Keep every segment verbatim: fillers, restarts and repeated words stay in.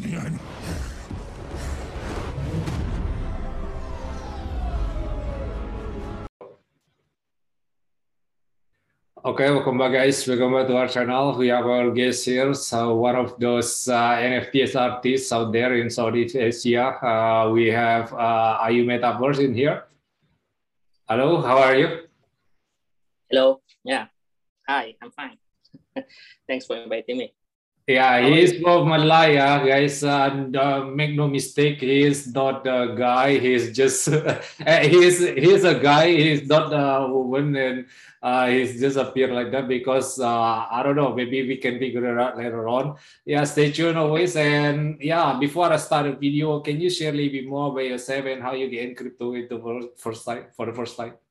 Okay, welcome back, guys. Welcome back to our channel. We have our guest here, so one of those uh, N F T artists out there in Southeast Asia. Uh, we have uh, Ayu Metaverse in here. Hello, how are you? Hello. Yeah. Hi, I'm fine. Thanks for inviting me. Yeah, he is from Malaya, guys. And uh, make no mistake, he is not a guy. He's just he is he's a guy. He's not a woman, and uh, he's just appear like that because uh, I don't know. Maybe we can figure it out later on. Yeah, stay tuned always. And yeah, before I start the video, can you share a little bit more about yourself and how you get in crypto into first time for the first time?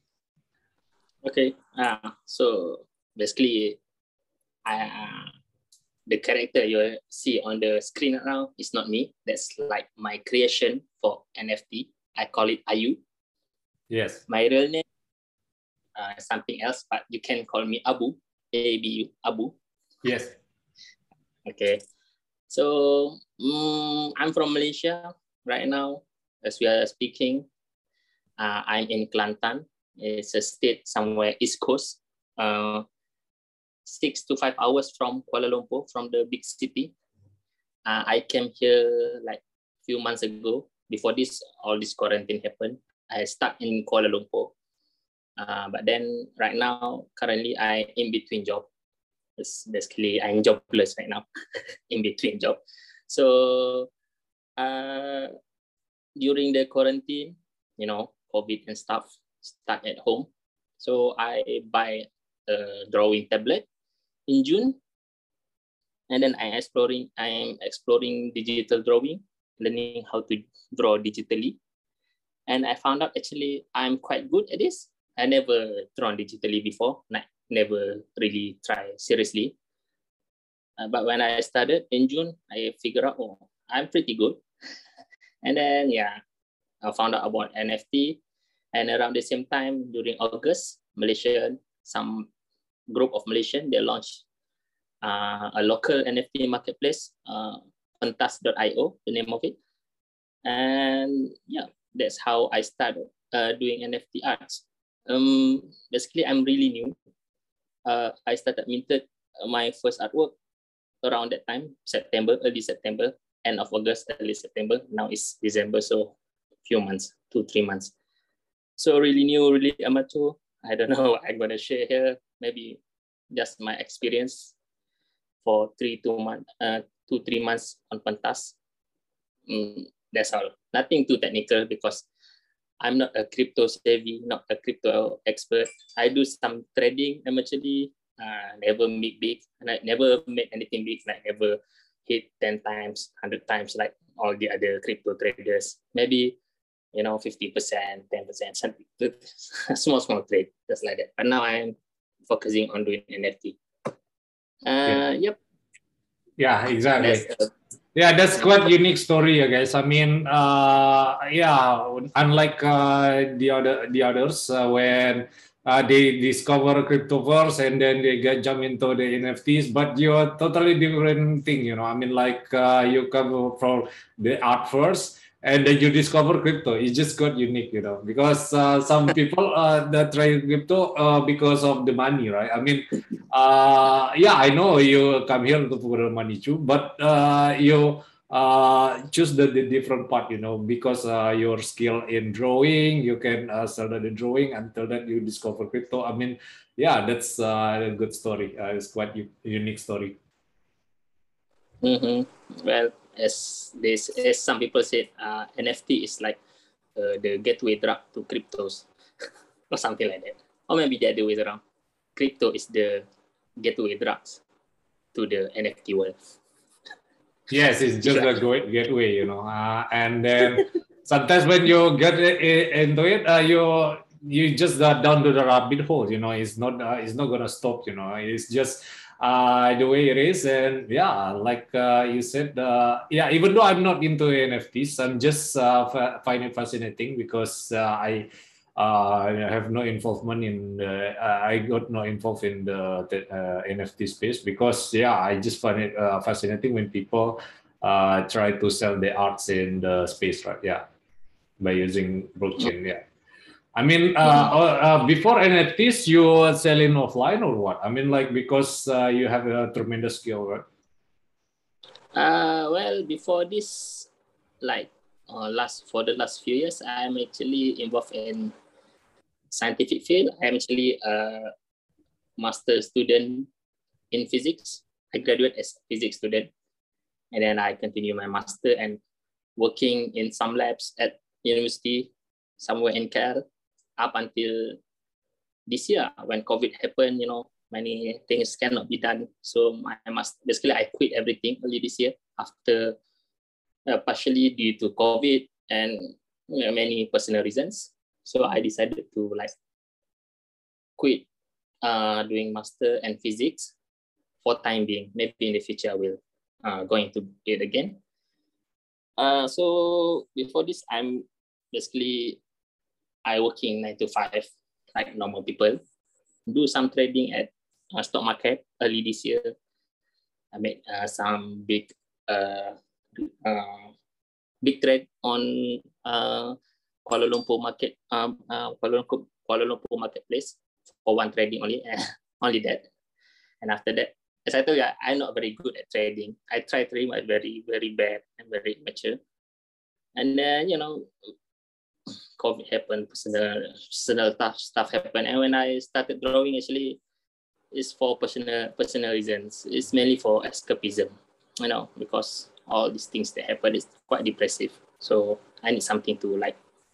Okay. Uh, so basically, I. Uh, the character you see on the screen right now is not me. That's like my creation for N F T. I call it Ayu. Yes. My real name uh, is something else, but you can call me Abu. A B U, Abu. Yes. Okay. So um, I'm from Malaysia right now. As we are speaking, uh, I'm in Kelantan. It's a state somewhere East Coast. Uh, six to five hours from Kuala Lumpur, from the big city. Uh, I came here like a few months ago. Before this, all this quarantine happened. I stuck in Kuala Lumpur. Uh, but then right now, currently I in between job. It's basically I'm jobless right now, in between job. So uh, during the quarantine, you know, COVID and stuff, stuck at home. So I buy a drawing tablet in June, and then I'm exploring. I'm exploring digital drawing, learning how to draw digitally, and I found out actually I'm quite good at this. I never drawn digitally before, like never really try seriously. Uh, but when I started in June, I figured out, oh, I'm pretty good. And then yeah, I found out about N F T, and around the same time during August, Malaysia, some group of Malaysian, they launched uh, a local N F T marketplace, uh, pentas dot i o, the name of it. And yeah, that's how I started uh, doing N F T arts. Um, basically, I'm really new. Uh, I started minted my first artwork around that time, September, early September, end of August, early September. Now it's December, so few months, two, three months. So really new, really amateur. I don't know what I'm gonna share here. Maybe just my experience for three, two months, uh, two, three months on pentas. Mm, that's all. Nothing too technical because I'm not a crypto savvy, not a crypto expert. I do some trading amateurly. Uh, never make big, and I never made anything big. Like never hit ten times, hundred times like all the other crypto traders. Maybe you know, fifty percent, ten percent, something, small, small trade, just like that. But now I'm focusing on doing N F T. Uh, yeah. Yep. Yeah, exactly. That's, uh, yeah, that's quite unique story, guys. I mean, uh, yeah, unlike uh, the other the others, uh, when uh, they discover cryptoverse and then they get jump into the N F Ts, but you're totally different thing, you know. I mean, like uh, you come from the art first, and then you discover crypto. It's just got unique, you know, because uh, some people uh, that try crypto uh, because of the money, right? I mean, uh, yeah, I know you come here to for the money too, but uh, you uh, choose the, the different part, you know, because uh, your skill in drawing, you can uh, start the drawing until that you discover crypto. I mean, yeah, that's uh, a good story. Uh, it's quite a unique story. Mm-hmm. Well, as this, as some people said, uh, N F T is like uh, the gateway drug to cryptos, or something like that, or maybe the other way around. Crypto is the gateway drugs to the N F T world. Yes, it's just a great gateway, you know, uh, and then sometimes when you get into it, uh, you you just got down to the rabbit hole, you know. It's not uh, it's not gonna stop, you know. It's just uh, the way it is, and yeah, like uh, you said, uh, yeah. Even though I'm not into N F Ts, I'm just uh, find it fascinating because uh, I. Uh, I have no involvement in the, uh, I got no involved in the, the uh, N F T space because yeah, I just find it uh, fascinating when people uh, try to sell the arts in the space, right? Yeah, by using blockchain. Yeah. I mean, uh, uh, before N F Ts, you were selling offline or what? I mean, like because uh, you have a tremendous skill, right? Uh, well, before this, like uh, last for the last few years, I'm actually involved in scientific field. I'm actually a master student in physics. I graduate as a physics student, and then I continue my master and working in some labs at university somewhere in K L up until this year when COVID happened. You know, many things cannot be done. So I must basically I quit everything early this year after uh, partially due to COVID and you know, many personal reasons. So I decided to like quit uh, doing master and physics for time being. Maybe in the future I will uh, going to it again. Uh, so before this, I'm basically I working nine to five like normal people. Do some trading at uh, stock market early this year. I made uh, some big uh, uh, big trade on uh, Kuala Lumpur market, um, uh, Kuala Lumpur Kuala Lumpur marketplace for one trading only, only that. And after that, as I told you, I'm not very good at trading. I try trading, but very very bad and very mature. And then you know, COVID happened, personal personal stuff stuff happened, and when I started drawing, actually, it's for personal personal reasons. It's mainly for escapism, you know, because all these things that happen is quite depressive. So I need something to like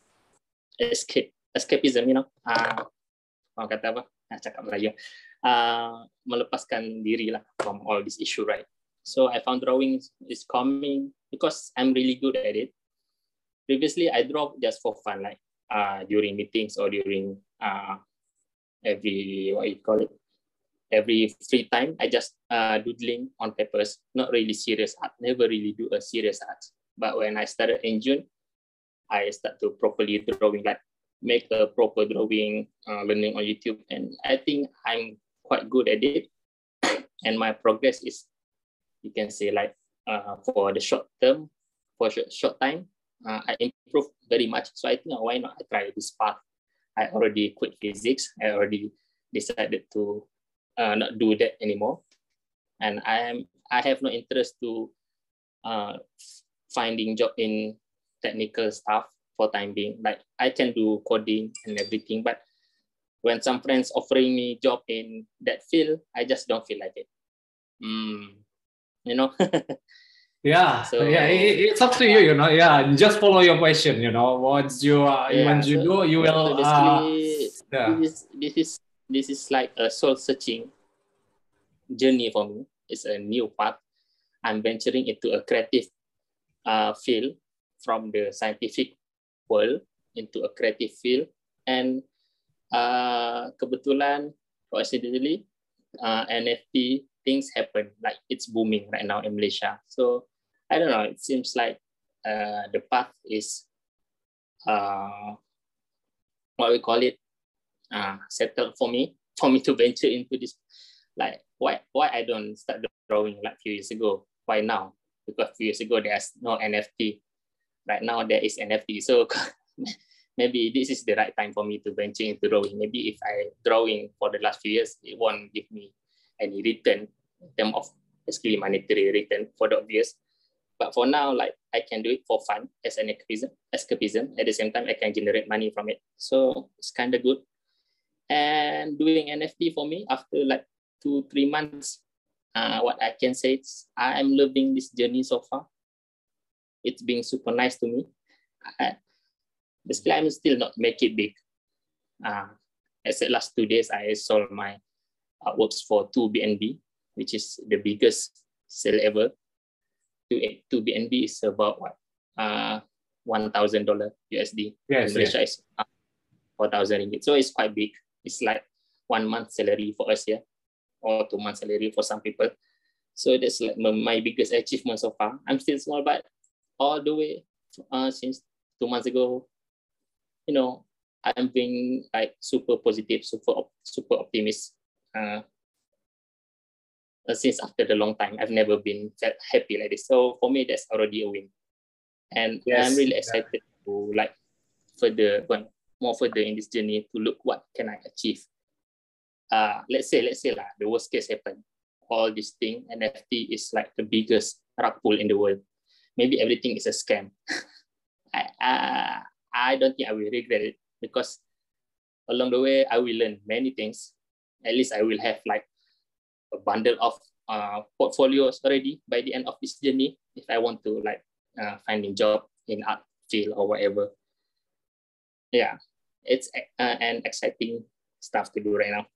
escape escapism, you know. Uh, orang kata apa? Nah, cakap Melayu. Uh, melepaskan diri lah from all this issue, right? So I found drawing is coming because I'm really good at it. Previously, I draw just for fun, like uh, during meetings or during uh, every what you call it, every free time. I just uh, doodling on papers, not really serious art. Never really do a serious art. But when I started in June, I start to properly drawing, like make a proper drawing, uh, learning on YouTube, and I think I'm quite good at it. And my progress is, you can say, like uh, for the short term, for short, short time, uh, I improved very much. So I think, uh, why not I try this path? I already quit physics. I already decided to uh, not do that anymore. And I am I have no interest to uh, finding job in technical stuff for time being. Like I can do coding and everything, but when some friends offering me job in that field, I just don't feel like it. Mm, you know. Yeah, So yeah, it, it's up to you, you know. Yeah, just follow your passion, you know. Once you uh, yeah, once you so do, you so will. Uh, basically this yeah, is this is this is like a soul searching journey for me. It's a new path. I'm venturing into a creative uh, field from the scientific world into a creative field, and uh, kebetulan, coincidentally, uh, N F T things happen, like it's booming right now in Malaysia. So I don't know. It seems like uh, the path is uh, what we call it uh, settled for me for me to venture into this. Like why why I don't start drawing like a few years ago? Why now? Because a few years ago there's no N F T. Right now there is N F T. So maybe this is the right time for me to venture into drawing. Maybe if I drawing for the last few years, it won't give me any return in terms of basically monetary return for the obvious. But for now, like I can do it for fun as an escapism. escapism. At the same time, I can generate money from it. So it's kind of good. And doing N F T for me after like two, three months, uh, what I can say is I'm loving this journey so far. It's been super nice to me. I, basically, I'm still not make it big. Uh, as the last two days, I sold my artworks for two B N B, which is the biggest sale ever. Two B N B is about what? Uh, one thousand dollars U S D. yes, In Malaysia, yes. is uh, four thousand ringgit. So it's quite big. It's like one month salary for us here, or two months salary for some people. So that's like my biggest achievement so far. I'm still small, but all the way uh, since two months ago, you know, I'm being like super positive, super super optimist. Uh, uh, since after the long time. I've never been felt happy like this. So for me, that's already a win. And yes, I'm really excited yeah. to like further, well, more further in this journey to look what can I achieve. Uh, let's say, let's say lah, the worst case happen. All this thing, N F T is like the biggest rug pull in the world. Maybe everything is a scam. I, uh, I don't think I will regret it, because along the way, I will learn many things. At least I will have like a bundle of uh, portfolios already by the end of this journey, if I want to like uh, find a job in art field or whatever. Yeah, it's uh, an exciting stuff to do right now.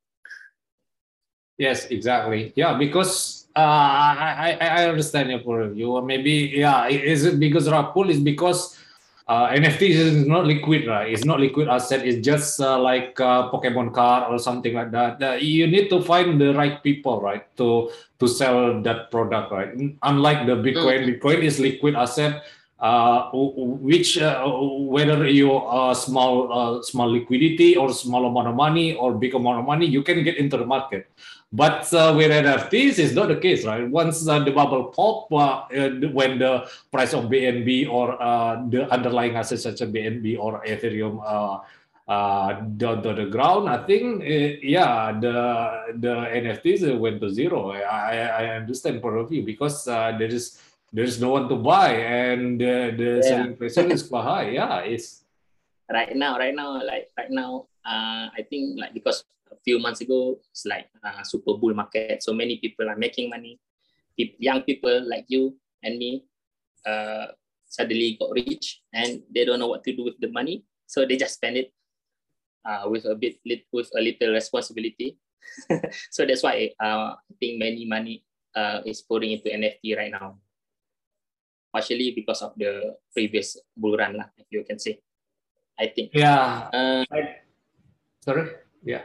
Yes, exactly. Yeah, because uh, I, I I understand your point of view. Maybe yeah, is it because rug pull is because uh, N F T is not liquid, right? It's not liquid asset. It's just uh, like uh, Pokemon card or something like that. Uh, you need to find the right people, right, to to sell that product, right? Unlike the Bitcoin, mm-hmm. Bitcoin is liquid asset. Uh, which uh, whether you are small uh, small liquidity or small amount of money or big amount of money, you can get into the market. But uh, with N F Ts, it's not the case, right? Once uh, the bubble pop, uh, when the price of B N B or uh, the underlying assets such as B N B or Ethereum uh, uh, down to the ground, I think, uh, yeah, the the N F Ts went to zero. I, I understand point of view, because uh, there is there is no one to buy, and uh, the yeah. selling pressure is quite high. Yeah, it's right now, right now, like right now, uh, I think like because a few months ago, it's like a super bull market. So many people are making money. Young people like you and me uh, suddenly got rich, and they don't know what to do with the money. So they just spend it uh, with a bit, with a little responsibility. So that's why uh, I think many money uh, is pouring into N F T right now. Partially because of the previous bull run, lah, if you can say. I think. Yeah. Uh, I, sorry. Yeah.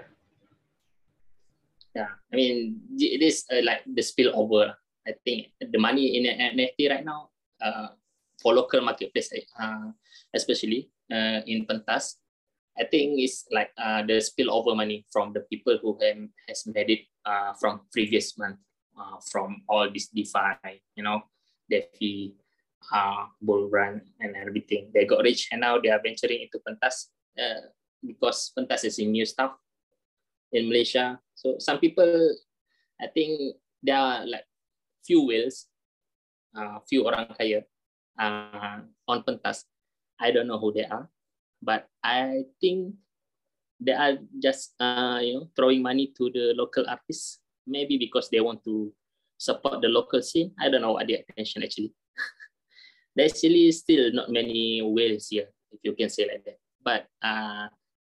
Yeah. I mean, it is uh, like the spillover. I think the money in N F T right now, uh, for local marketplace, uh, especially uh, in Pentas, I think it's like uh, the spillover money from the people who have, has made it uh, from previous month, uh, from all this DeFi, you know, DeFi, uh, bull run and everything. They got rich, and now they are venturing into Pentas uh, because Pentas is a new stuff in Malaysia. So some people, I think there are like few whales, uh, few orang kaya uh, on Pentas. I don't know who they are, but I think they are just uh, you know, throwing money to the local artists, maybe because they want to support the local scene. I don't know what their intention actually. There's actually still not many whales here, if you can say like that. But uh,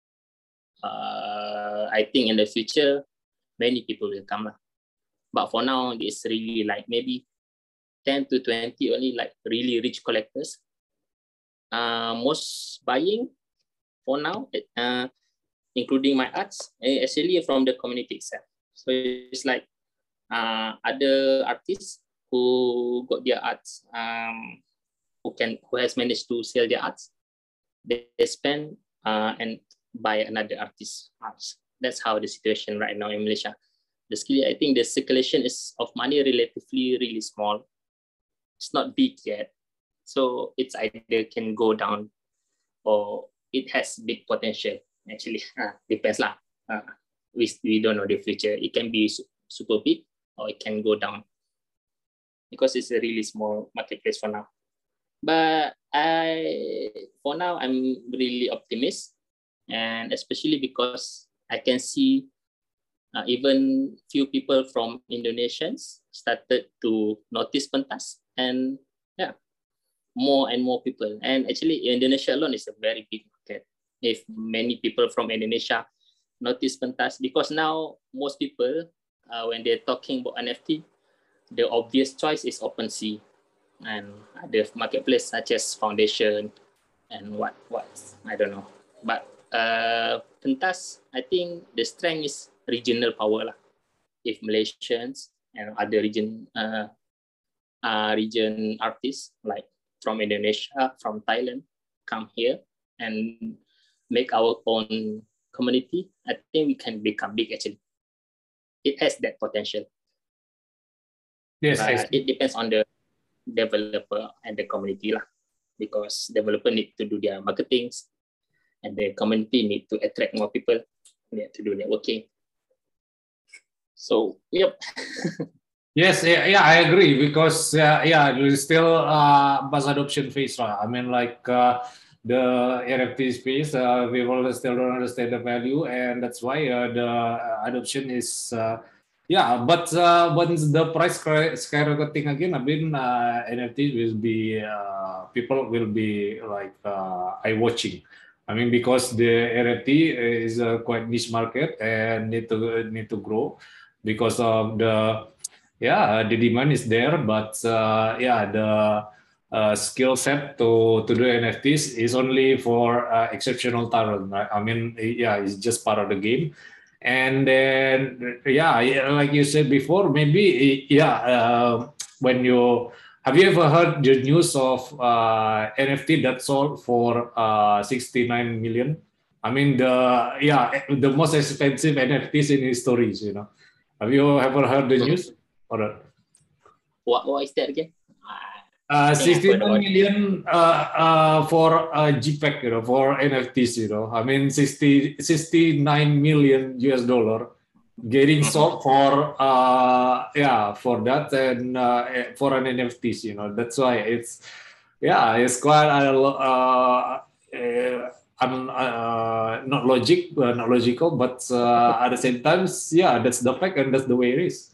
uh, I think in the future, many people will come. But for now, it's really like maybe ten to twenty only like really rich collectors. Uh, most buying for now, uh, including my arts, actually from the community itself. So it's like uh, other artists who got their arts, um, who can who has managed to sell their arts, they, they spend uh, and buy another artist's arts. That's how the situation right now in Malaysia. The skill, I think the circulation is of money relatively really small. It's not big yet, so it's either can go down or it has big potential. Actually, uh, depends lah. Uh, we we don't know the future. It can be super big or it can go down because it's a really small marketplace for now. But I, for now, I'm really optimistic, and especially because I can see uh, even few people from Indonesians started to notice Pentas, and yeah, more and more people. And actually, Indonesia alone is a very big market. If many people from Indonesia notice Pentas, because now most people, uh, when they're talking about N F T, the obvious choice is OpenSea and other marketplace such as Foundation and what what I don't know. But uh, Pentas, I think the strength is regional power lah. If Malaysians and other region uh, uh, region artists like from Indonesia, from Thailand, come here and make our own community, I think we can become big actually. It has that potential. Yes, I But see. it depends on the developer and the community lah, because developer need to do their marketing, and the community need to attract more people. They have to do networking. So, yep. Yes, yeah, yeah, I agree because uh, yeah, there's still uh, mass adoption phase, right? I mean, like uh, the N F T space, uh, people still don't understand the value, and that's why uh, the adoption is uh, yeah. But uh, once the price sky- skyrocketing again, I mean, uh, N F T will be uh, people will be like uh, eye watching. I mean, because the N F T is a quite niche market and need to need to grow because of the yeah, the demand is there, but uh, yeah, the uh, skill set to to do N F Ts is only for uh, exceptional talent, right? I mean, yeah, it's just part of the game. And then, yeah, yeah, like you said before, maybe, yeah, uh, when you have you ever heard the news of uh, N F T that sold for uh, sixty-nine million? I mean, the yeah, the most expensive N F Ts in history, you know. Have you ever heard the news? Or What, what is that again? I uh, think I've heard sixty-nine about it. million uh, uh, for uh, JPEG, you know, for N F Ts, you know. I mean, sixty, sixty-nine million U S dollar getting Mm-hmm. sold for, uh, yeah, for that and uh, for an N F Ts, you know. That's why it's, yeah, it's quite, uh, uh, uh, un, uh, not logic, uh, not logical, but uh, at the same time, yeah, that's the fact and that's the way it is.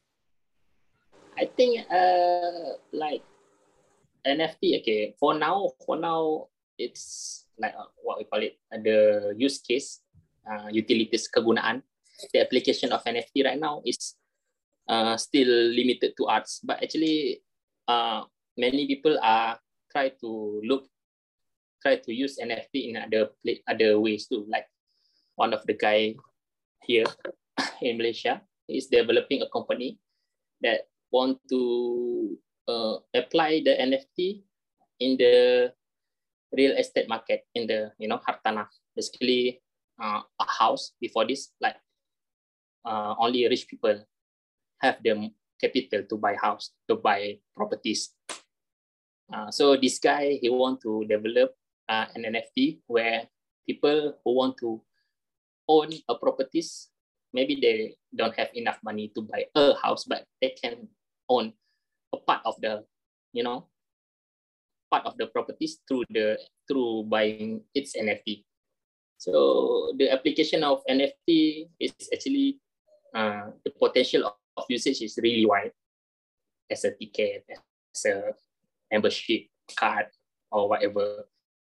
I think uh like N F T, okay, for now, for now it's like uh, what we call it, uh, the use case, uh, utilities kegunaan. The application of N F T right now is uh, still limited to arts, but actually uh, many people are try to look, try to use N F T in other other ways too. Like one of the guy here in Malaysia is developing a company that want to uh, apply the N F T in the real estate market, in the, you know, hartanah, basically uh, a house. Before this, like uh, only rich people have the capital to buy house, to buy properties. Uh, so this guy, he want to develop uh, an N F T where people who want to own a properties, maybe they don't have enough money to buy a house, but they can own a part of the, you know, part of the properties through the through buying its N F T. So the application of N F T is actually uh, the potential of, of usage is really wide, as a ticket, as a membership card, or whatever.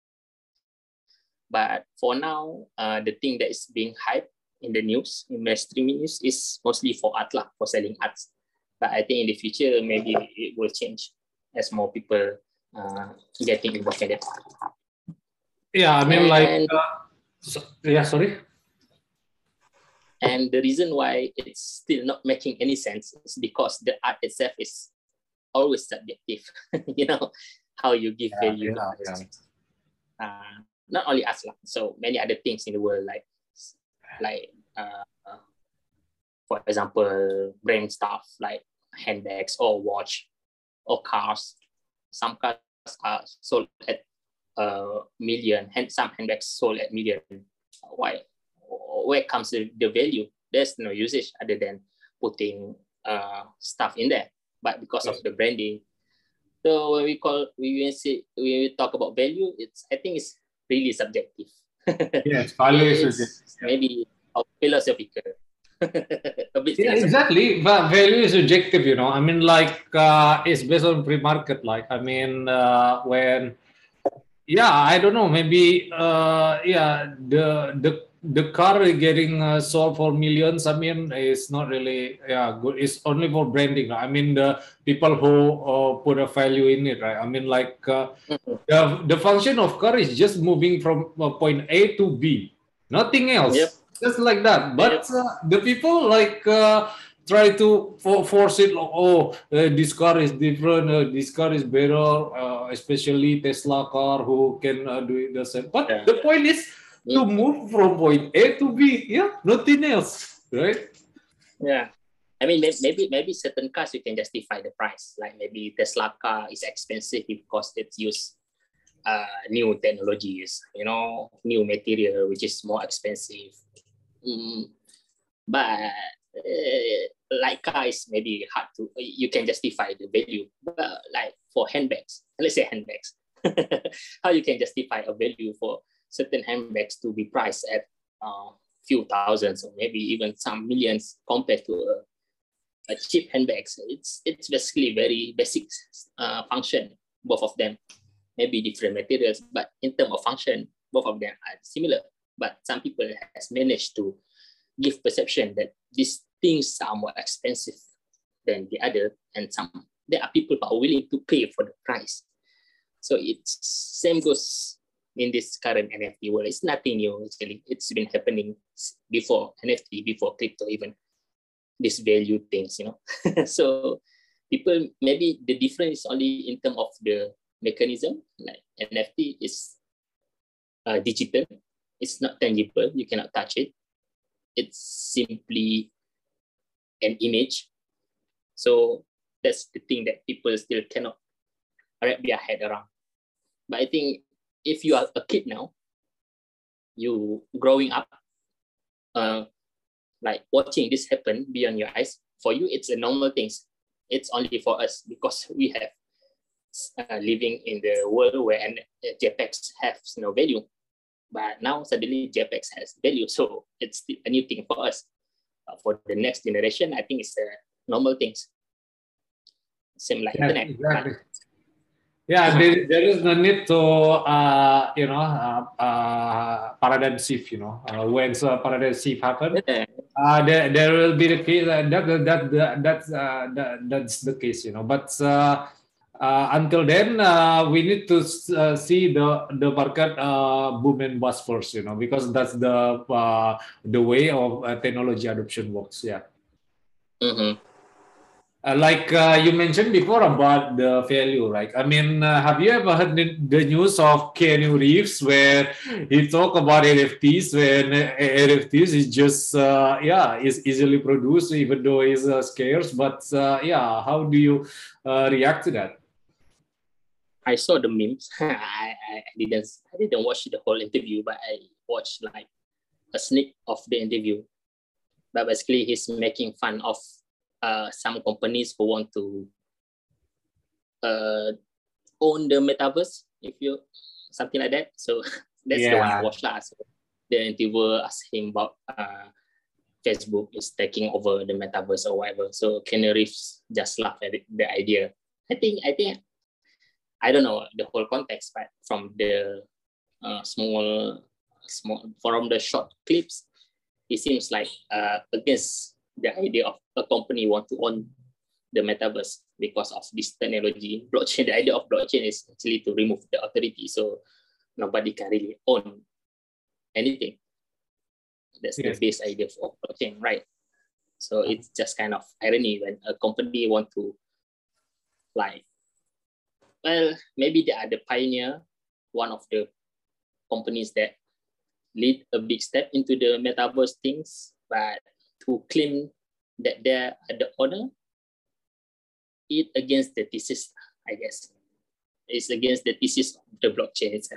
But for now, uh, the thing that is being hyped in the news, in mainstream news, is mostly for art lah, for selling arts. But I think in the future, maybe it will change as more people uh, getting involved in it. Yeah, I mean, and, like, uh, so, yeah, sorry. And the reason why it's still not making any sense is because the art itself is always subjective. You know, how you give Yeah, value yeah, to art. yeah. Uh, not only us, so many other things in the world, like, like uh, for example, brand stuff like handbags or watch or cars. Some cars are sold at a million, and some handbags sold at million. Why? Where comes the, the value? There's no usage other than putting uh, stuff in there. But because of the branding, so when we call we say we talk about value, it's I think it's really subjective. Yes, value is It's subjective. maybe philosophical. A bit Yeah, philosophical. exactly. But value is subjective, you know. I mean, like, uh, it's based on free market. Like, I mean, uh, when, yeah, I don't know, maybe, uh, yeah, the the the car getting uh, sold for millions. I mean, it's not really, yeah, good. It's only for branding. I mean, the people who uh, put a value in it, right? I mean, like, uh, the the function of car is just moving from uh, point A to B, nothing else. Yep. Just like that. But Yep. uh, the people like uh, try to for, force it. Like, oh, uh, this car is different. Uh, this car is better, uh, especially Tesla car who can uh, do it the same. But Yeah. the point is to move from point A to B. Yeah, nothing else, right? Yeah. I mean, maybe maybe certain cars you can justify the price. Like maybe Tesla car is expensive because it's used uh, new technologies, you know, new material which is more expensive. Mm, but uh, like cars, maybe hard to you can justify the value. But like for handbags, let's say handbags, how you can justify a value for certain handbags to be priced at a uh, few thousands or maybe even some millions compared to a a cheap handbags. It's it's basically very basic uh, function, both of them. Maybe different materials, but in terms of function, both of them are similar. But some people has managed to give perception that these things are more expensive than the other, and some there are people who are willing to pay for the price. So it's same goes in this current N F T world. It's nothing new actually. It's been happening before N F T, before crypto even. This value things, you know. So people, maybe the difference is only in terms of the mechanism. Like N F T is uh, digital, it's not tangible, you cannot touch it. It's simply an image. So that's the thing that people still cannot wrap their head around. But I think if you are a kid now, you growing up, uh, like watching this happen beyond your eyes, for you, it's a normal thing. It's only for us because we have uh, living in the world where JPEGs have no value. But now suddenly JPEGs has value. So it's a new thing for us. Uh, for the next generation, I think it's a normal thing. Same like Yeah, internet. exactly. Yeah, there, there is no need to, uh, you know, uh, uh, paradigm shift, you know. Uh, when uh, paradigm shift happen, uh, there, there will be the case, uh, that, that, that, that's, uh, that, that's the case, you know. But uh, uh, until then, uh, we need to uh, see the, the market uh, boom and bust first, you know, because that's the, uh, the way of uh, technology adoption works, yeah. Mm-hmm. Uh, like uh, you mentioned before about the value, right? I mean, uh, have you ever heard the, the news of Keanu Reeves where he talk about N F Ts when uh, N F Ts is just, uh, yeah, is easily produced even though it's uh, scarce. But uh, yeah, how do you uh, react to that? I saw the memes. I, I didn't I didn't watch the whole interview, but I watched like a sneak of the interview. But basically, he's making fun of Uh, some companies who want to uh, own the metaverse, if you something like that. So that's yeah. the one I watched last. So the interviewer asked him about uh, Facebook is taking over the metaverse or whatever. So Keanu Reeves just laughed at it, the idea. I think I think I don't know the whole context, but from the uh, small small from the short clips, it seems like uh, against the idea of a company want to own the metaverse because of this technology. Blockchain, the idea of blockchain is actually to remove the authority, so nobody can really own anything. That's yes. the base idea of blockchain, right? So it's just kind of irony when a company want to, like, well, maybe they are the pioneer, one of the companies that lead a big step into the metaverse things, but to claim that they're the owner, it against the thesis, I guess. It's against the thesis of the blockchain itself.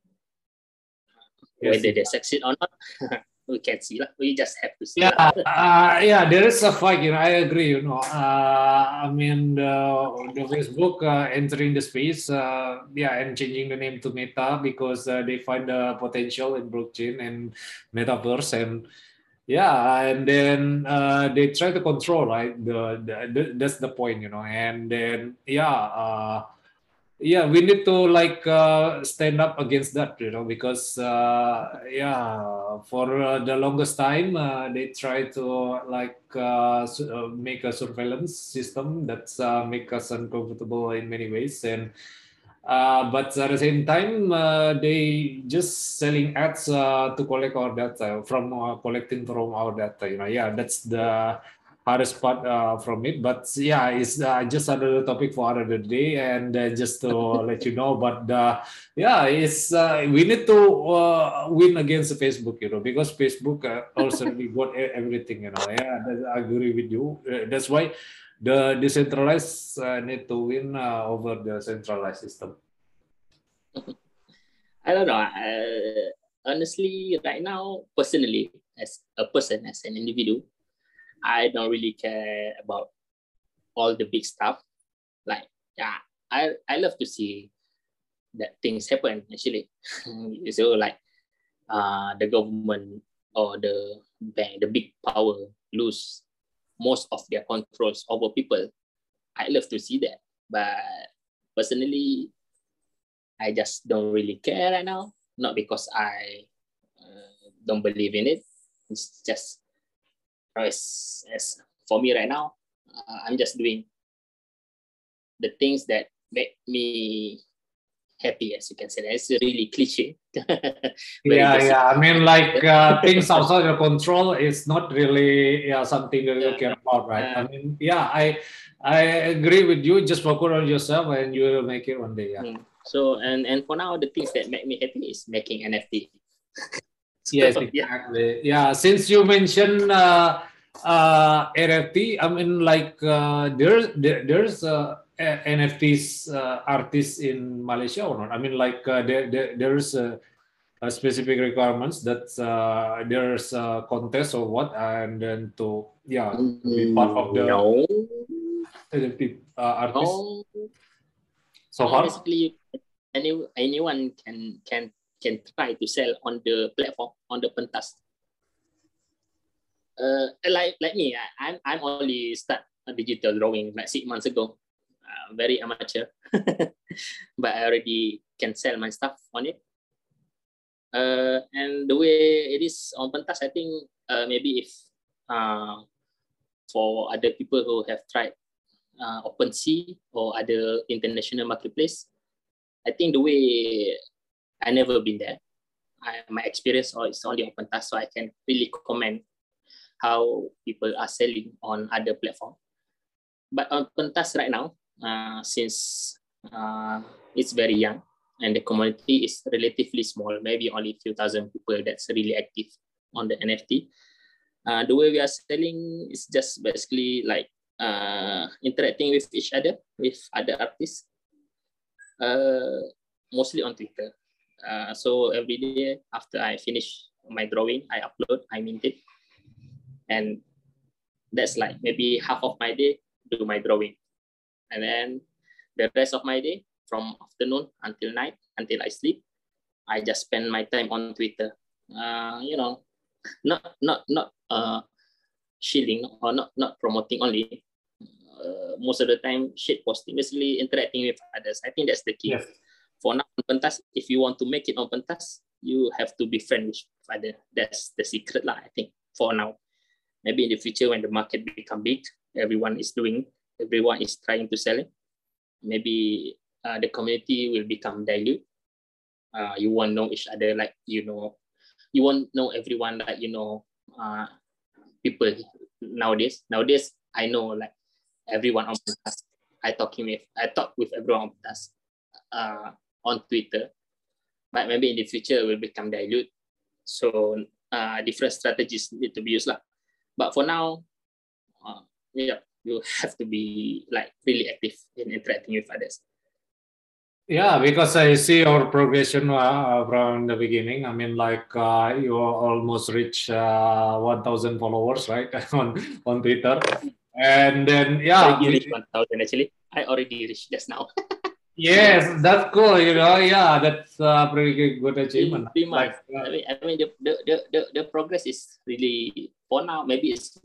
Yes, whether they succeed or not, we can see. We just have to see. Yeah, uh, yeah, there is a fight, you know, I agree, you know. Uh, I mean, the, the Facebook uh, entering the space, uh, yeah, and changing the name to Meta because uh, they find the potential in blockchain and metaverse, and yeah, and then uh, they try to control, right? The, the, the that's the point, you know. And then yeah, uh, yeah, we need to like uh, stand up against that, you know, because uh, yeah, for uh, the longest time uh, they try to like uh, uh, make a surveillance system that's uh, make us uncomfortable in many ways, and Uh, but at the same time, uh, they just selling ads uh, to collect our data from uh, collecting from our data. You know, yeah, that's the hardest part uh, from it. But yeah, it's uh, just another topic for another day. And uh, just to let you know, but uh, yeah, it's uh, we need to uh, win against Facebook, you know, because Facebook uh, also we got e- everything, you know. Yeah, that- I agree with you. Uh, that's why the decentralized uh, need to win uh, over the centralized system. I don't know. Uh, honestly, right now, personally, as a person, as an individual, I don't really care about all the big stuff. Like, yeah, I, I love to see that things happen actually. So like uh, the government or the bank, the big power lose most of their controls over people. I love to see that. But personally, I just don't really care right now. Not because I uh, don't believe in it. It's just as, as for me right now, uh, I'm just doing the things that make me happy, as you can say. That's really cliche. Yeah, basic. yeah. I mean, like uh, things outside your control is not really yeah something that you care about, right? I mean, yeah, I I agree with you. Just focus on yourself, and you will make it one day. Yeah. So and and for now, the things that make me happy is making N F T. So, Yes, yeah. exactly. Yeah, since you mentioned uh, uh, N F T, I mean, like uh, there's there, there's uh, a- N F Ts uh, artists in Malaysia or not? I mean, like uh, there, there there's uh, uh, specific requirements that uh, there's a contest or what, and then to yeah to be part of Mm, the no. N F T uh, artists No. so No, far. basically, any anyone can can can try to sell on the platform on the pentas. Uh, like like me, I, I'm I'm only start a digital drawing like six months ago. Uh, very amateur, but I already can sell my stuff on it. Uh, and the way it is on pentas, I think uh, maybe if uh, for other people who have tried uh, OpenSea or other international marketplace, I think the way I never been there. I, my experience is only on pentas, so I can really comment how people are selling on other platform. But on pentas right now, uh, since uh, it's very young and the community is relatively small, maybe only a few thousand people that's really active on the N F T. Uh, the way we are selling is just basically like uh, interacting with each other, with other artists, uh, mostly on Twitter. Uh, so every day after I finish my drawing, I upload, I mint it. And that's like maybe half of my day do my drawing. And then the rest of my day from afternoon until night, until I sleep, I just spend my time on Twitter. Uh, you know, not not not uh, shilling or not not promoting only. Uh, most of the time, shit posting, basically interacting with others. I think that's the key. Yes. For now, on pentas, if you want to make it on pentas, you have to be friends with others. That's the secret, lah. I think for now. Maybe in the future, when the market become big, everyone is doing, everyone is trying to sell it. Maybe uh, the community will become dilute. Uh, you won't know each other like you know. You won't know everyone like you know. Uh, people nowadays. Nowadays, I know like everyone on pentas. I talking with, I talk with everyone on pentas, uh, on Twitter. But maybe in the future, it will become dilute. So uh, different strategies need to be used lah. But for now, uh, yeah, you have to be like really active in interacting with others. Yeah, because I see your progression uh, from the beginning. I mean, like uh, you almost reach uh, one thousand followers, right, on on Twitter, and then yeah, Already reached one thousand actually. I already reached just now. yes, that's cool. You know, yeah, that's a pretty good achievement. Three months. Like, uh, I mean, I mean the, the, the, the, the progress is really, for now, maybe it's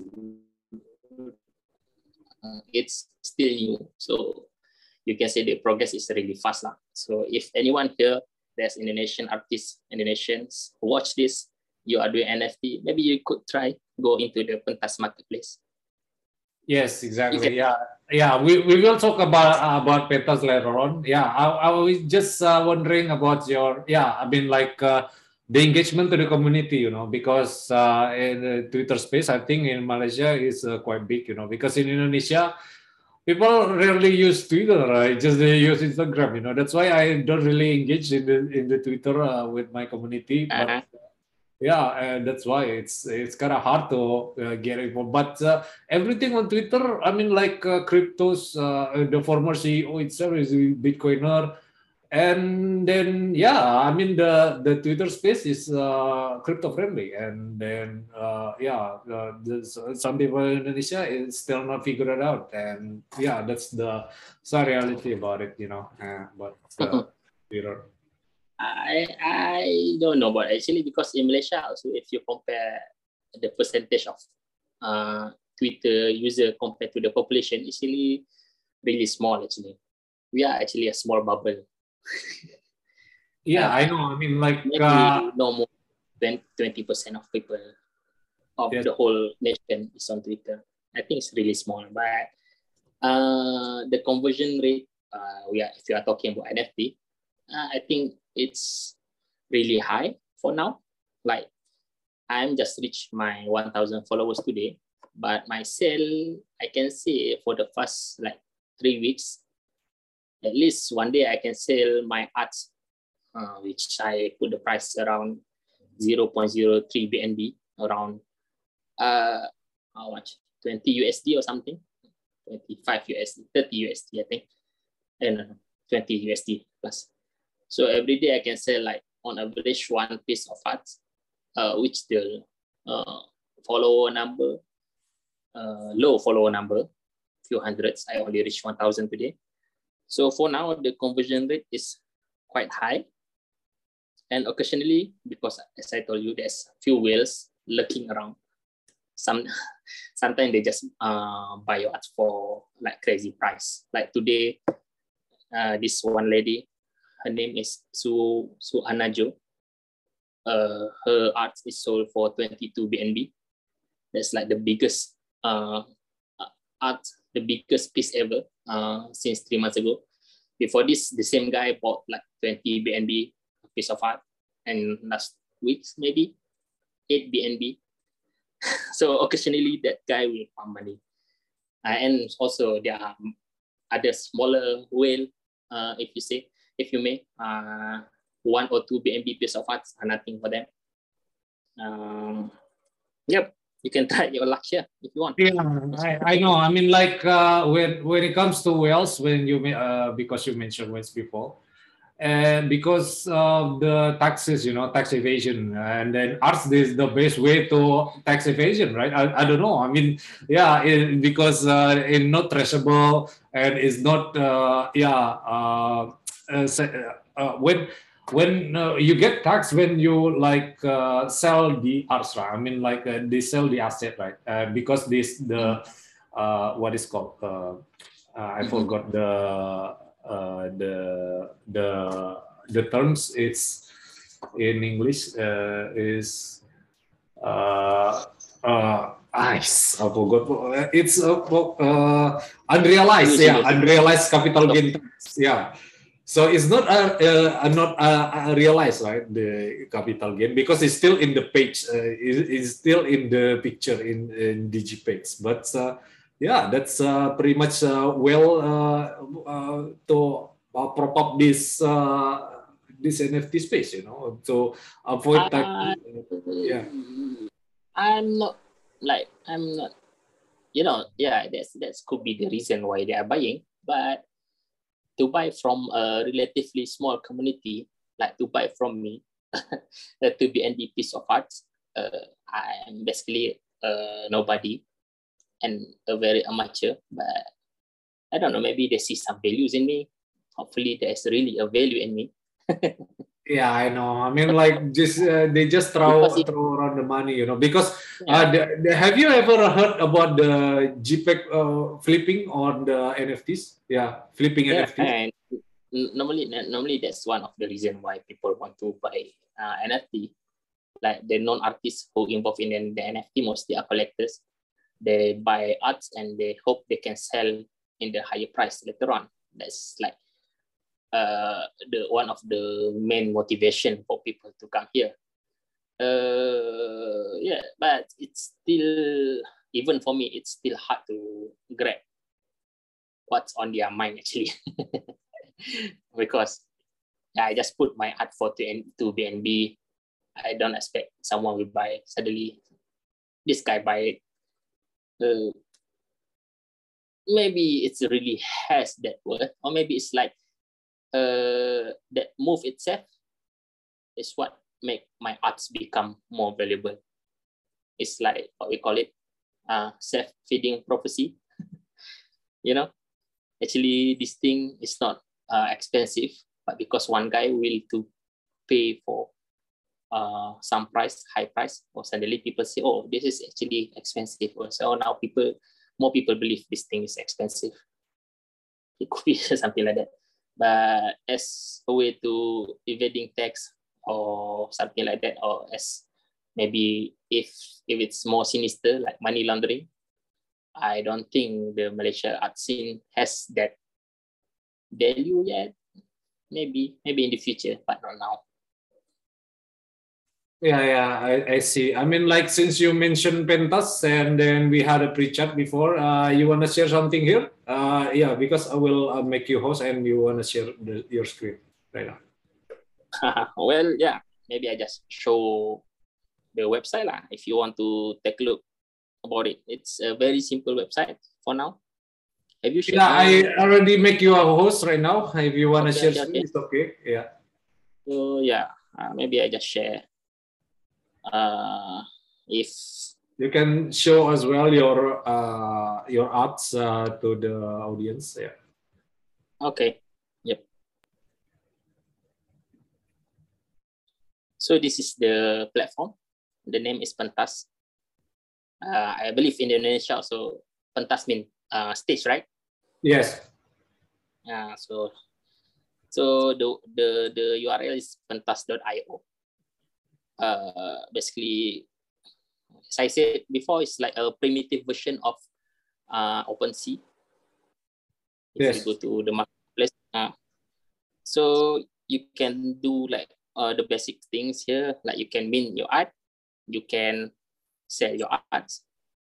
uh, it's still new. So you can say the progress is really fast lah. So if anyone here, there's Indonesian artists, Indonesians who watch this, you are doing N F T, maybe you could try go into the pentas marketplace. yes, exactly. Yeah, yeah. We, we will talk about uh, about pentas later on. Yeah, I, I was just uh, wondering about your. Yeah, I mean, like uh, the engagement to the community, you know, because uh, in the Twitter space, I think in Malaysia is uh, quite big, you know, because in Indonesia, people rarely use Twitter, right? Just they use Instagram, you know. That's why I don't really engage in the in the Twitter uh, with my community. But Uh-huh. yeah, and that's why it's it's kind of hard to uh, get involved. But uh, everything on Twitter, I mean, like uh, cryptos, uh, the former C E O itself is a Bitcoiner, and then yeah, I mean the the Twitter space is uh, crypto friendly, and then uh, yeah, uh, there's, uh, some people in Indonesia is still not figured it out, and yeah, that's the sad reality about it, you know, uh, about uh, Twitter. I I don't know, but actually because in Malaysia also, if you compare the percentage of uh, Twitter user compared to the population, it's really really small. Actually, we are actually a small bubble. Yeah, uh, I know. I mean, like uh, maybe no more than twenty percent of people of yes. the whole nation is on Twitter. I think it's really small, but uh, the conversion rate, uh, we are if you are talking about N F T, uh, I think it's really high for now. Like I'm just reached my one thousand followers today, but my sale, I can say for the first like three weeks, at least one day I can sell my arts, uh, which I put the price around zero point zero three B N B, around uh, how much? twenty U S D or something, twenty-five U S D, thirty U S D, I think, and uh, twenty U S D plus. So every day I can sell like on average one piece of art, uh, which the uh, follower number, uh, low follower number, few hundreds. I only reach one thousand today. So for now, the conversion rate is quite high. And occasionally, because as I told you, there's few whales lurking around. Some sometimes they just uh, buy your art for like crazy price. Like today, uh, this one lady, her name is Su Su Anajo. Uh, her art is sold for twenty-two B N B. That's like the biggest uh, art, the biggest piece ever uh, since three months ago. Before this, the same guy bought like twenty B N B piece of art, and last week maybe eight B N B. So occasionally that guy will farm money. Uh, and also there are other smaller whale, uh, if you say, if you may, uh, one or two B N B piece of art are nothing for them. Um, yep, you can try your luck here if you want. Yeah, I, I know. I mean, like uh, when when it comes to whales, when you uh, because you mentioned whales before, and because of the taxes, you know, tax evasion, and then arts is the best way to tax evasion, right? I, I don't know. I mean, yeah, it, because uh, it's not traceable and it's not, uh, yeah, uh, uh, uh, when when uh, you get taxed when you like uh, sell the arts, right? I mean, like uh, they sell the asset, right? Uh, because this the uh, what is called uh, uh, I forgot the uh, the the the terms. It's in English uh, is uh, uh, ice. I forgot. It's uh, uh, unrealized. Yeah, unrealized capital gain tax. Yeah. So it's not uh, uh, not uh, realized, right? The capital gain because it's still in the page. Uh, it, it's still in the picture in, in DigiPage. But uh, yeah, that's uh, pretty much uh, well uh, uh, to uh, prop up this uh, this N F T space, you know, to avoid tax. Uh, Yeah. I'm not like I'm not. You know, yeah, that's that could be the reason why they are buying, but to buy from a relatively small community, like to buy from me, the two B N B piece of art, uh, I am basically uh, nobody and a very amateur, but I don't know, maybe they see some values in me. Hopefully there's really a value in me. Yeah, I know. I mean, like, just uh, they just throw it, throw around the money, you know. Because yeah. uh, the, the, have you ever heard about the JPEG uh, flipping on the N F Ts? Yeah, flipping Yeah, N F Ts. and normally, normally that's one of the reasons why people want to buy uh, N F T. Like the non-artists who involved in the N F T mostly are collectors. They buy arts and they hope they can sell in the higher price later on. That's like uh, the one of the main motivation for people to come here. uh, yeah, but it's still, even for me, it's still hard to grab what's on their mind actually. Because yeah, I just put my art for to B N B. I don't expect someone will buy. Suddenly, this guy buy it. Uh, maybe it's really has that word, or maybe it's like uh, that move itself is what make my arts become more valuable. It's like what we call it, uh, self-feeding prophecy. You know, actually this thing is not uh, expensive, but because one guy will to pay for uh, some price, high price, or suddenly people say, oh, this is actually expensive. So now people, more people believe this thing is expensive. It could be something like that. But as a way to evading tax or something like that, or as maybe if if it's more sinister like money laundering, I don't think the Malaysia art scene has that value yet. Maybe, maybe in the future, but not now. Yeah, yeah, I, I see. I mean, like since you mentioned Pentas and then we had a pre-chat before, uh, you want to share something here? Uh, yeah, because I will uh, make you host and you want to share the, your screen right now. Well, yeah, maybe I just show the website lah. If you want to take a look about it, it's a very simple website for now. Have you shared? Yeah, I already make you a host right now. If you want to okay, share, okay, okay. It's okay. Yeah. So yeah, uh, maybe I just share. Uh, if you can show as well your uh, your arts uh, to the audience. Yeah. Okay. Yep. So this is the platform. The name is Pentas. Uh, I believe in Indonesia also Pentas means uh, stage, right? Yes. Yeah. So so the the the U R L is pentas dot i o. Uh, basically, as I said before, it's like a primitive version of uh, OpenSea. If yes. you go to the marketplace, uh, so you can do like uh, the basic things here, like you can mint your art, you can sell your arts,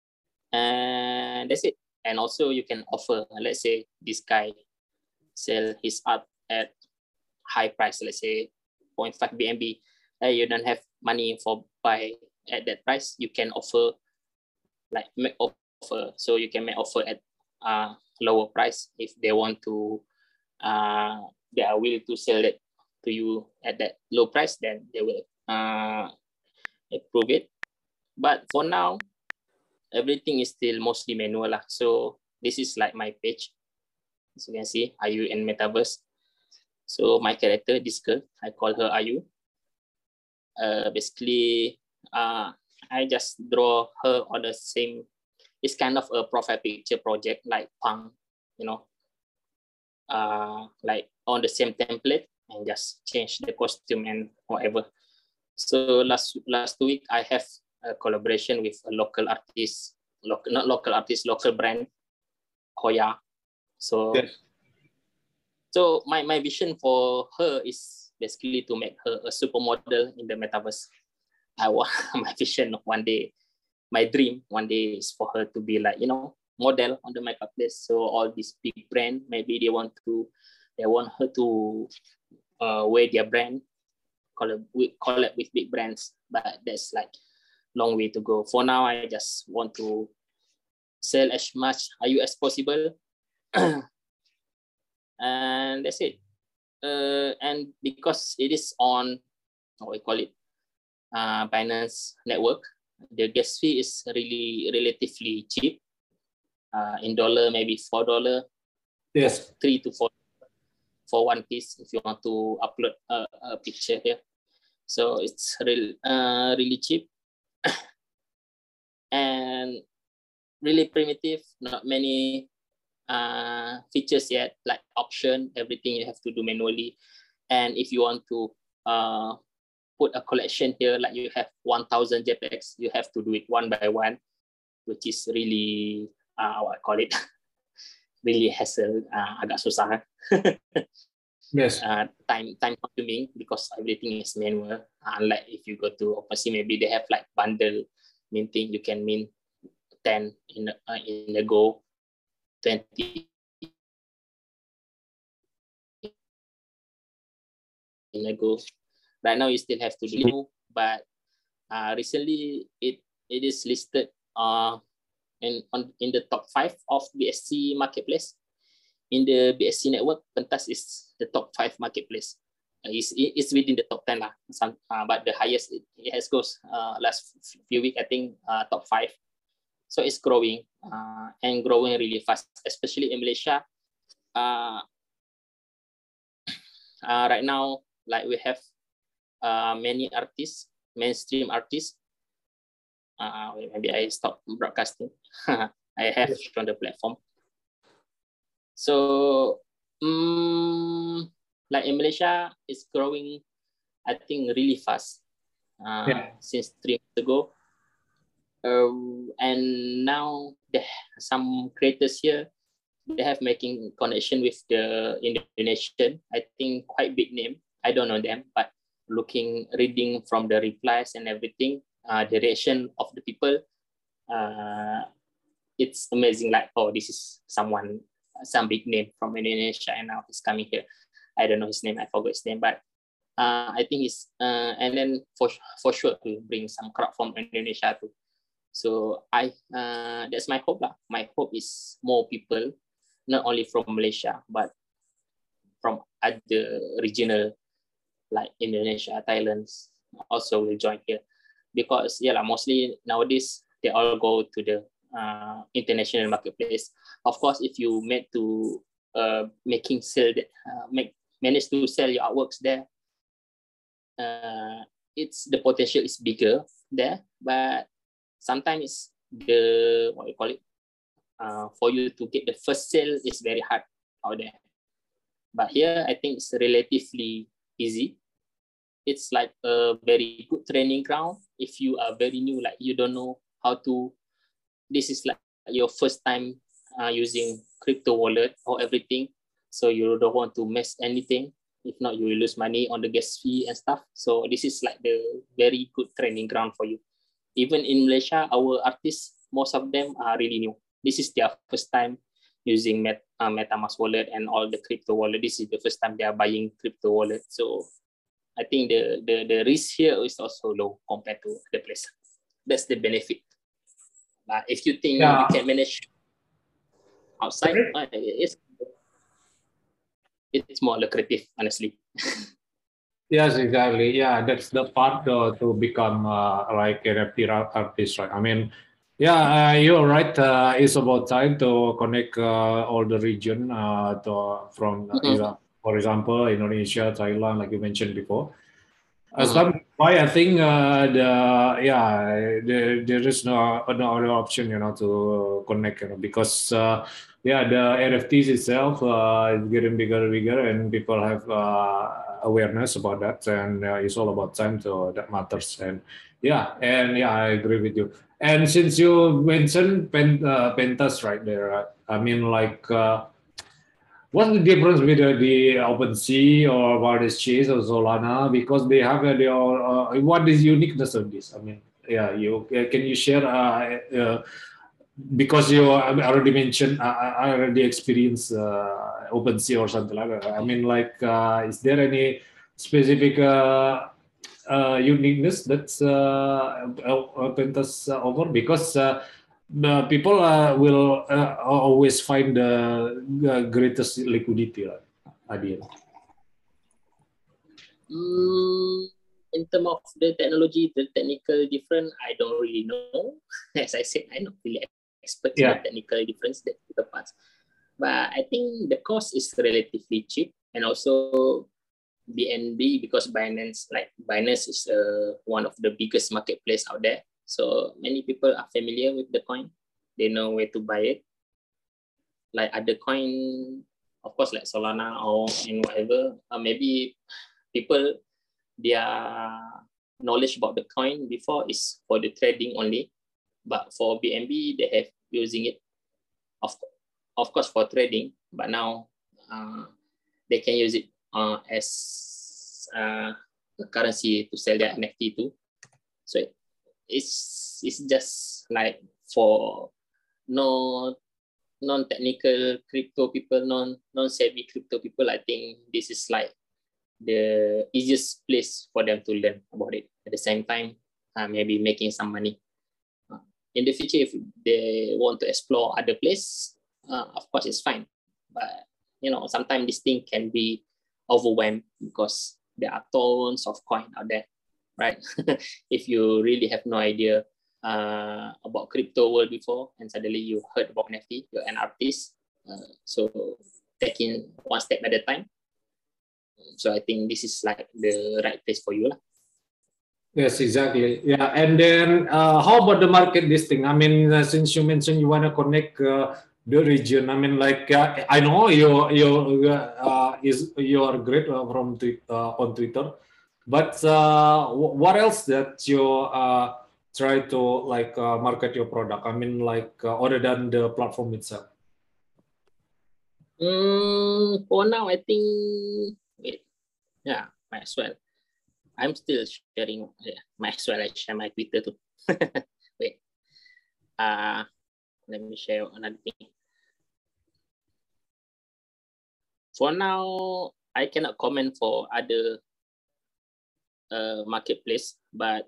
and that's it. And also you can offer, let's say this guy sell his art at high price, let's say zero point five B N B. Hey, you don't have money for buy at that price, you can offer like make offer. So you can make offer at uh, lower price if they want to. Uh, they are willing to sell it to you at that low price, then they will uh, approve it. But for now, everything is still mostly manual lah. So this is like my page. As you can see, Ayu and Metaverse. So my character, this girl, I call her Ayu. Uh, basically, uh, I just draw her on the same. It's kind of a profile picture project like Punk, you know, uh, like on the same template and just change the costume and whatever. So last last week I have a collaboration with a local artist, local, not local artist, local brand, Hoya. So, yes. so my, my vision for her is basically to make her a supermodel in the metaverse. I want my vision one day, my dream one day is for her to be like, you know, model on the marketplace. So all these big brand, maybe they want to, they want her to uh, wear their brand, collab, collab with big brands, but that's like long way to go. For now, I just want to sell as much I U as possible, and that's it. Uh, and because it is on, what we call it, uh, Binance network, the gas fee is really relatively cheap. Uh, in dollar, maybe four dollar. Yes. Three to four for one piece if you want to upload a, a picture here. So it's real, uh, really cheap and really primitive. Not many uh, features yet, like auction. Everything you have to do manually. And if you want to uh, put a collection here, like you have one thousand JPEGs, you have to do it one by one, which is really, uh, what I call it, really hassle, uh, agak susah. Yes. uh, time time consuming because everything is manual. Uh, unlike if you go to OpenSea, maybe they have like bundle minting. You can mint ten in a, uh, in a go, twenty in a go. Right now, you still have to do, but uh, recently it it is listed uh in on in the top five of B S C marketplace. In the B S C network, Pentas is the top five marketplace. Uh, it's, it's within the top ten lah. Some, uh, but the highest it, it has goes uh, last few weeks, I think uh, top five. So it's growing uh, and growing really fast, especially in Malaysia. Uh, uh, right now, like we have uh, many artists, mainstream artists. Uh, maybe I stop broadcasting. I have on the platform. So, um, like in Malaysia, it's growing, I think, really fast uh, yeah. since three months ago. Uh, and now the, some creators here, they have making connection with the Indonesian, I think quite big name. I don't know them, but looking, reading from the replies and everything, uh, the reaction of the people, uh, it's amazing. Like, oh, this is someone, some big name from Indonesia, and now he's coming here. I don't know his name, I forgot his name, but uh, I think he's, uh, and then for for sure to bring some crowd from Indonesia too. So I, uh, that's my hope lah. My hope is more people, not only from Malaysia, but from other regional like Indonesia, Thailand, also will join here. Because yeah, like, mostly nowadays, they all go to the uh, international marketplace. Of course, if you made to uh, making sell, that, uh, make manage to sell your artworks there, uh, it's the potential is bigger there, but sometimes the what you call it, uh, for you to get the first sale is very hard out there. But here, I think it's relatively easy. It's like a very good training ground. If you are very new, like you don't know how to, this is like your first time uh, using crypto wallet or everything. So you don't want to mess anything. If not, you will lose money on the gas fee and stuff. So this is like the very good training ground for you. Even in Malaysia, our artists, most of them are really new. This is their first time using Met, uh, MetaMask wallet and all the crypto wallet. This is the first time they are buying crypto wallet. So I think the, the, the risk here is also low compared to the place. That's the benefit. But if you think yeah. you can manage outside, uh, it's, it's more lucrative, honestly. Yes, exactly. Yeah, that's the part uh, to become uh, like an N F T artist, right? I mean, yeah, uh, you're right. Uh, it's about time to connect uh, all the region uh, to, from, uh, mm-hmm. for example, Indonesia, Thailand, like you mentioned before. Uh, mm-hmm. Some why I think uh, the yeah the, there is no no other option, you know, to connect, you know, because uh, yeah the N F Ts itself uh, is getting bigger and bigger, and people have uh, awareness about that, and uh, it's all about time to that matters. And yeah, and yeah, I agree with you. And since you mentioned Pen, uh, Pentas right there, uh, I mean like. Uh, What's the difference with uh, the OpenSea or WildExchange or Solana? Because they have uh, their uh, what is uniqueness of this? I mean, yeah, you uh, can you share? Uh, uh, because you already mentioned, uh, I already experienced uh, OpenSea or something like that. I mean, like, uh, is there any specific uh, uh, uniqueness that's uh, Pentas uh, over? Because uh, the people uh, will uh, always find the, the greatest liquidity right, at the end. Mm, in terms of the technology, the technical difference, I don't really know. As I said, I'm not really expert in yeah. the technical difference that the past. But I think the cost is relatively cheap, and also B N B, because Binance, like Binance is uh, one of the biggest marketplace out there. So many people are familiar with the coin. They know where to buy it. Like other coin, of course, like Solana or in whatever, uh, maybe people, their knowledge about the coin before is for the trading only. But for B N B, they have using it, of, of course, for trading. But now uh, they can use it uh, as uh, a currency to sell their N F T to. So it's it's just like for no non-technical crypto people, non non-savvy crypto people. I think this is like the easiest place for them to learn about it. At the same time, uh, maybe making some money. Uh, in the future, if they want to explore other place, uh, of course it's fine. But you know, sometimes this thing can be overwhelmed because there are tons of coin out there, right? If you really have no idea uh, about crypto world before, and suddenly you heard about N F T, you're an artist. Uh, so taking one step at a time. So I think this is like the right place for you lah. Yes, exactly. Yeah, and then uh, how about the market listing? I mean, uh, since you mentioned you want to connect uh, the region, I mean, like uh, I know you you uh, is you are great uh, from twi- uh, on Twitter, but uh, what else that you uh, try to like uh, market your product? I mean, like uh, other than the platform itself. Mm, for now, I think wait, yeah, might as well. I'm still sharing. Yeah, might as well I share my Twitter too. Wait, uh, let me share another thing. For now, I cannot comment for other uh, marketplace, but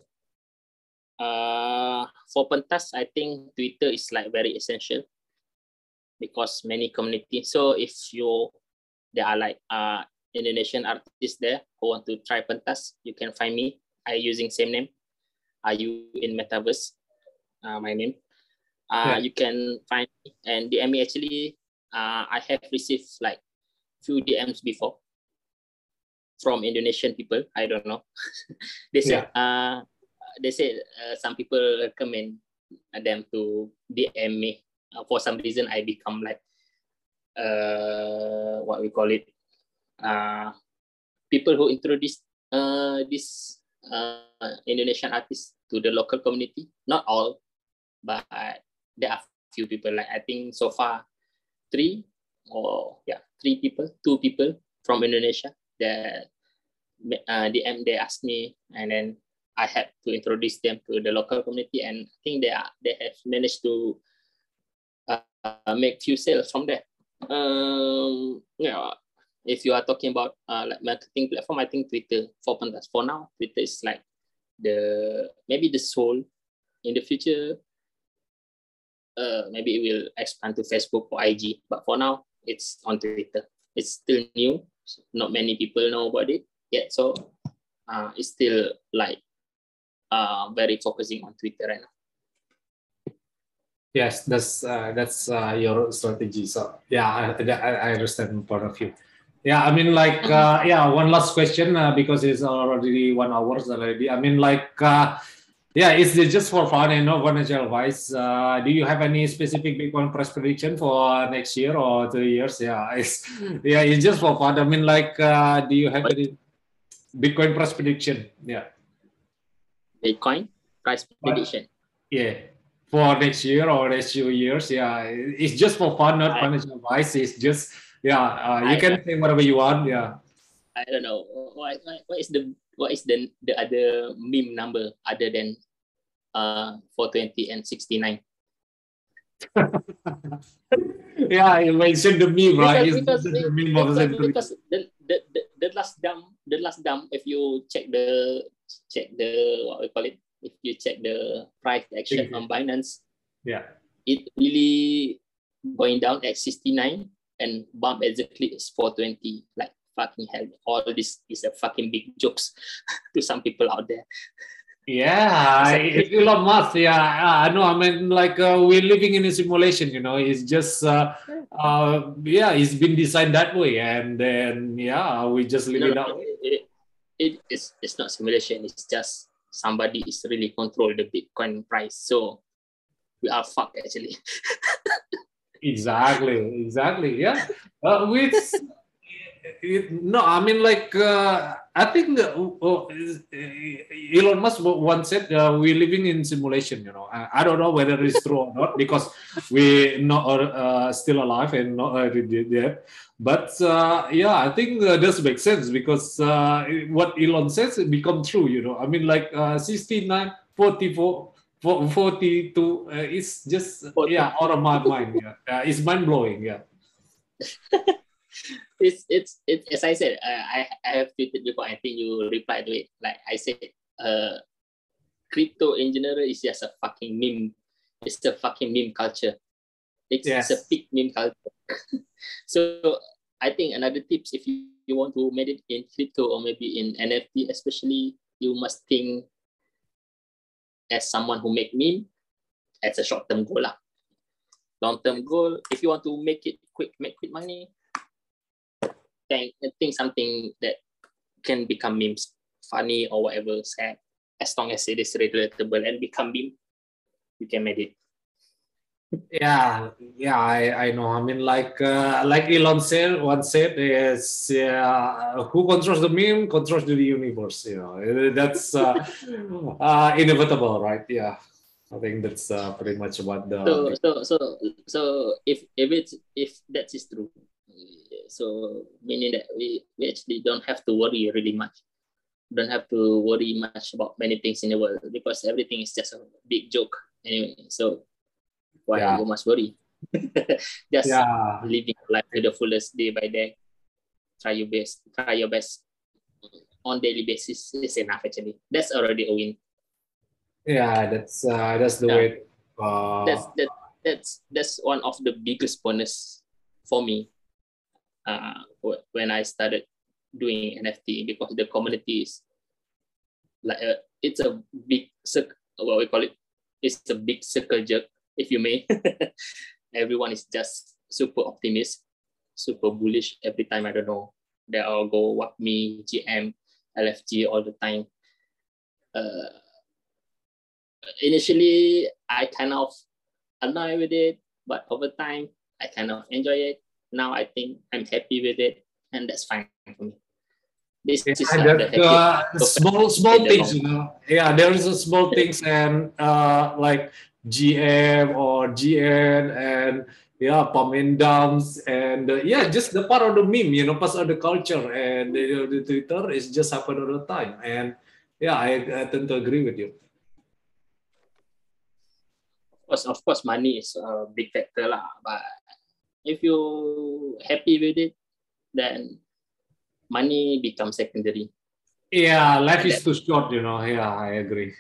uh, for pentas, I think Twitter is like very essential because many community. So if you there are like uh, Indonesian artists there who want to try pentas, you can find me. I using same name. Are you in Metaverse? Uh, my name. Uh, yeah. You can find me and D M me. Actually, uh, I have received like few D Ms before from Indonesian people. I don't know. They said yeah. uh, they said uh, some people recommend them to D M me. Uh, for some reason, I become like uh, what we call it. Uh, people who introduce uh, this uh, Indonesian artists to the local community. Not all, but there are few people. Like I think so far three or yeah three people, two people from Indonesia. That uh, D M they asked me, and then I had to introduce them to the local community, and I think they are they have managed to uh, make few sales from there. Um, yeah. If you are talking about uh, like marketing platform, I think Twitter for pentas. For now, Twitter is like the maybe the soul. In the future, uh, maybe it will expand to Facebook or I G. But for now, it's on Twitter. It's still new. Not many people know about it yet. So uh, it's still like uh, very focusing on Twitter right now. Yes, that's uh, that's uh, your strategy. So yeah, I, I, I understand point of view. Yeah, I mean, like, uh, yeah, one last question uh, because it's already one hour already. I mean, like, uh, yeah, it's just for fun and not financial advice. Uh, do you have any specific Bitcoin price prediction for next year or two years? Yeah, it's yeah, it's just for fun. I mean, like, uh, do you have any Bitcoin price prediction? Yeah, Bitcoin price prediction. But, yeah. For next year or next few years, yeah, it's just for fun, not I, financial advice. It's just, yeah, uh, you I, can say whatever you want. Yeah. I don't know what, what is the what is the the other meme number other than uh four twenty and sixty-nine. Yeah, you mentioned the meme, right? Because, because, the meme because, of because the, the, the, the last dump, the last dump, if you check the check the what we call it, if you check the price action on Binance, yeah, it really going down at sixty-nine and bump exactly is four twenty. Like fucking hell, all this is a fucking big jokes to some people out there. Yeah, it's Elon Musk. Yeah, I know. I mean, like uh, we're living in a simulation. You know, it's just, uh, uh, yeah, it's been designed that way, and then yeah, we just live no, it that no, way. It, it, it's it's not simulation. It's just somebody is really control the Bitcoin price. So we are fucked actually. Exactly, exactly. Yeah, uh, with it, no, I mean like uh, I think uh, uh, Elon Musk once said uh, we're living in simulation. You know, I, I don't know whether it's true or not because we not uh, still alive and not uh, dead. But uh, yeah, I think uh, does make sense because uh, what Elon says it become true. You know, I mean like uh, sixty-nine, forty-four. forty-two uh, it's just yeah out of my mind. Yeah, uh, it's mind blowing. Yeah. it's it's it's as I said, uh, I I have tweeted before. I think you replied to it. Like I said, uh, crypto engineer is just a fucking meme. It's a fucking meme culture. It's, yes. it's a big meme culture. So I think another tips if you, you want to make it in crypto or maybe in N F T, especially, you must think as someone who make meme as a short-term goal lah. Long-term goal, if you want to make it quick, make quick money, think, think something that can become memes, funny or whatever, sad, as long as it is relatable and become meme, you can make it. Yeah, yeah, I, I know. I mean, like uh, like Elon said once said is uh, who controls the meme controls the universe. You know, that's uh, uh, inevitable, right? Yeah, I think that's uh, pretty much what the. So so so so if if it's if that is true, so meaning that we, we actually don't have to worry really much, don't have to worry much about many things in the world because everything is just a big joke anyway. So. Why yeah. you must worry? Just yeah. living life to the fullest day by day. Try your best. Try your best on daily basis is enough actually. That's already a win. Yeah, that's uh, that's the yeah. way. Uh... That's that that's that's one of the biggest bonus for me. Uh, when I started doing N F T because the community is like a, it's a big circle. What we call it? It's a big circle jerk. If you may. Everyone is just super optimist, super bullish every time. I don't know. They all go what me, G M, L F G all the time. Uh, initially, I kind of annoyed with it, but over time, I kind of enjoy it. Now I think I'm happy with it, and that's fine for me. This yeah, is like the uh, small small things, you know. Yeah, there is a small things and uh, like G M or G N and yeah, pump and dumps and uh, yeah, just the part of the meme, you know, part of the culture and the, the Twitter is just happen all the time. And yeah, I, I tend to agree with you. Of course, of course, money is a big factor lah. But if you happy with it, then money becomes secondary. Yeah, life is too short, you know. Yeah, I agree.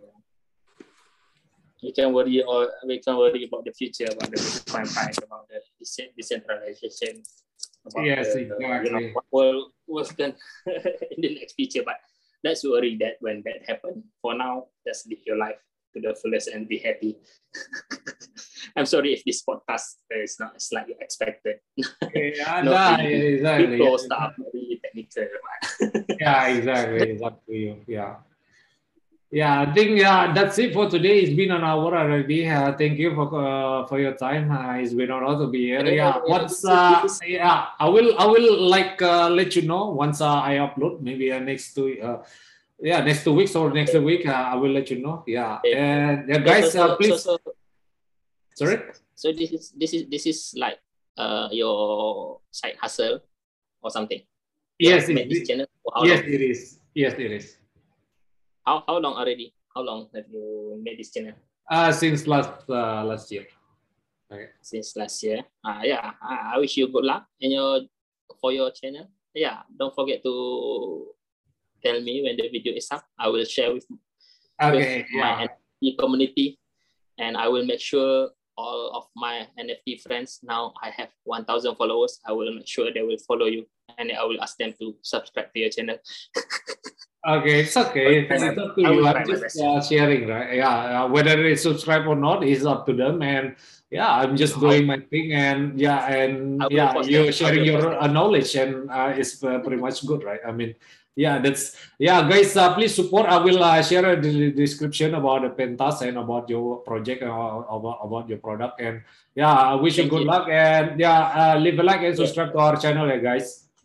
You can worry or we can worry about the future, about the Bitcoin price, about the decentralization, about yes, the, exactly. you know, what will was done in the next future. But let's worry that when that happens. For now, just live your life to the fullest and be happy. I'm sorry if this podcast is not as like you expected. Yeah, no, nah, really, exactly. People stuff, really technical. Yeah, exactly. Exactly. Yeah. Yeah, I think yeah, that's it for today. It's been an hour already. Uh, thank you for uh, for your time. Uh, it's been an honor to be here. Yeah, once uh, yeah, I will I will like uh, let you know once uh, I upload. Maybe uh, next two uh, yeah next two weeks or next week. Uh, I will let you know. Yeah, and yeah, guys, uh, please. So, so, Sorry. So this is this is this is like uh your side hustle or something. Yes, it, this channel how yes, long? it is. Yes, it is. How how long already? How long have you made this channel? Uh, since last uh, last year. Okay. Since last year. Uh, yeah, I wish you good luck in your for your channel. Yeah, don't forget to tell me when the video is up. I will share with, okay, with yeah. my N F T community, and I will make sure all of my N F T friends, now I have one thousand followers. I will make sure they will follow you, and I will ask them to subscribe to your channel. Okay, it's okay. It's up to you. I'm just uh, sharing, right? Yeah, uh, whether they subscribe or not is up to them. And yeah, I'm just doing my thing. And yeah, and yeah, you're sharing your uh, knowledge, and uh, it's uh, pretty much good, right? I mean, yeah, that's yeah, guys. Uh, please support. I will uh, share the description about the Pentas and about your project and about about your product. And yeah, I wish you good luck. And yeah, uh, leave a like and subscribe to our channel, yeah, guys.